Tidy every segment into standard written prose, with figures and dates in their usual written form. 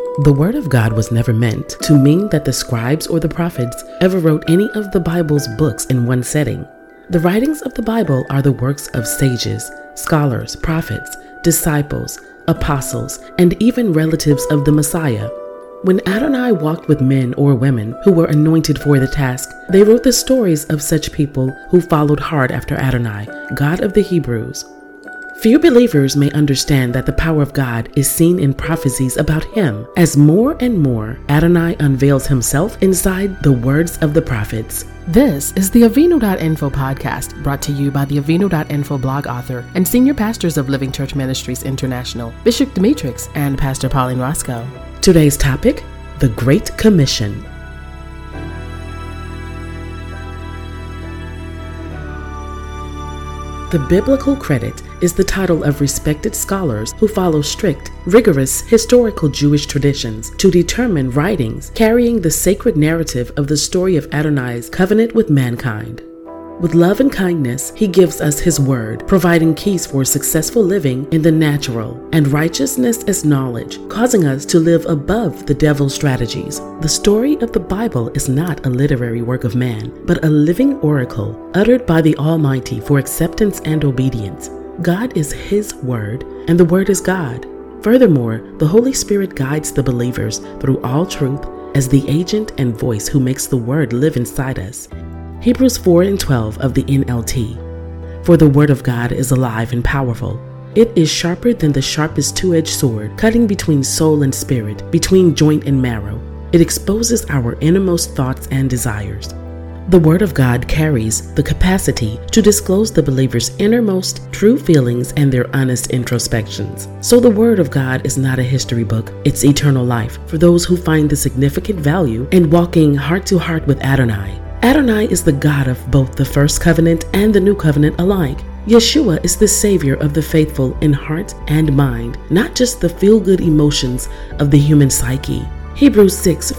The Word of God was never meant to mean that the scribes or the prophets ever wrote any of the Bible's books in one setting. The writings of the Bible are the works of sages, scholars, prophets, disciples, apostles, and even relatives of the Messiah. When Adonai walked with men or women who were anointed for the task, they wrote the stories of such people who followed hard after Adonai, God of the Hebrews. Few believers may understand that the power of God is seen in prophecies about him, as more and more Adonai unveils himself inside the words of the prophets. This is the Avinu.info podcast, brought to you by the Avinu.info blog author and senior pastors of Living Church Ministries International, Bishop Demetrix and Pastor Pauline Roscoe. Today's topic, the Great Commission. The biblical credit is the title of respected scholars who follow strict, rigorous historical Jewish traditions to determine writings carrying the sacred narrative of the story of Adonai's covenant with mankind. With love and kindness, he gives us his word, providing keys for successful living in the natural, and righteousness as knowledge, causing us to live above the devil's strategies. The story of the Bible is not a literary work of man, but a living oracle uttered by the Almighty for acceptance and obedience. God is his word, and the word is God. Furthermore, the Holy Spirit guides the believers through all truth as the agent and voice who makes the word live inside us. Hebrews 4:12 of the NLT. For the word of God is alive and powerful. It is sharper than the sharpest two-edged sword, cutting between soul and spirit, between joint and marrow. It exposes our innermost thoughts and desires. The word of God carries the capacity to disclose the believer's innermost true feelings and their honest introspections. So the word of God is not a history book, it's eternal life for those who find the significant value in walking heart to heart with Adonai. Adonai is the God of both the first covenant and the new covenant alike. Yeshua is the Savior of the faithful in heart and mind, not just the feel-good emotions of the human psyche. Hebrews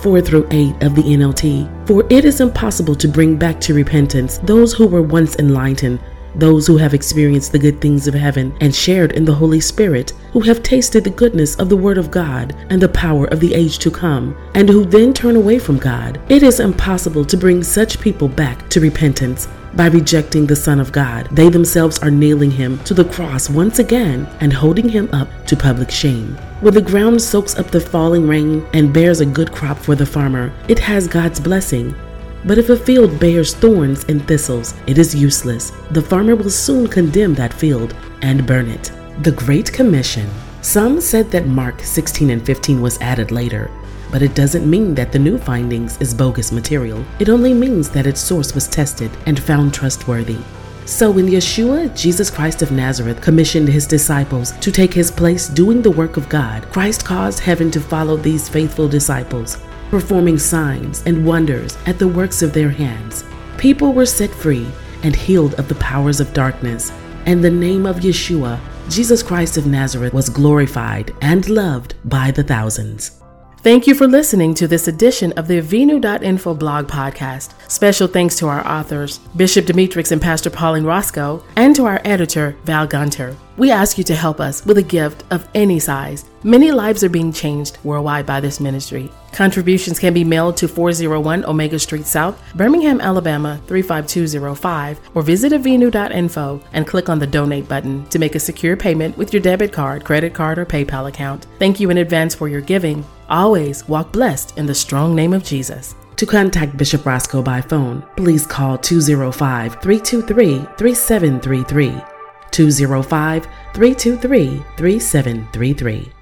6:4-8 of the NLT. For it is impossible to bring back to repentance those who were once enlightened, those who have experienced the good things of heaven and shared in the Holy Spirit, who have tasted the goodness of the Word of God and the power of the age to come, and who then turn away from God. It is impossible to bring such people back to repentance by rejecting the Son of God. They themselves are nailing him to the cross once again and holding him up to public shame. When the ground soaks up the falling rain and bears a good crop for the farmer, it has God's blessing. But if a field bears thorns and thistles, it is useless. The farmer will soon condemn that field and burn it. The Great Commission. Some said that Mark 16:15 was added later, but it doesn't mean that the new findings is bogus material. It only means that its source was tested and found trustworthy. So when Yeshua, Jesus Christ of Nazareth, commissioned his disciples to take his place doing the work of God, Christ caused heaven to follow these faithful disciples, performing signs and wonders at the works of their hands. People were set free and healed of the powers of darkness, and the name of Yeshua, Jesus Christ of Nazareth, was glorified and loved by the thousands. Thank you for listening to this edition of the Avinu.info blog podcast. Special thanks to our authors, Bishop Demetrix and Pastor Pauline Roscoe, and to our editor, Val Gunter. We ask you to help us with a gift of any size. Many lives are being changed worldwide by this ministry. Contributions can be mailed to 401 Omega Street South, Birmingham, Alabama 35205, or visit avinu.info and click on the donate button to make a secure payment with your debit card, credit card, or PayPal account. Thank you in advance for your giving. Always walk blessed in the strong name of Jesus. To contact Bishop Roscoe by phone, please call 205-323-3733, 205-323-3733.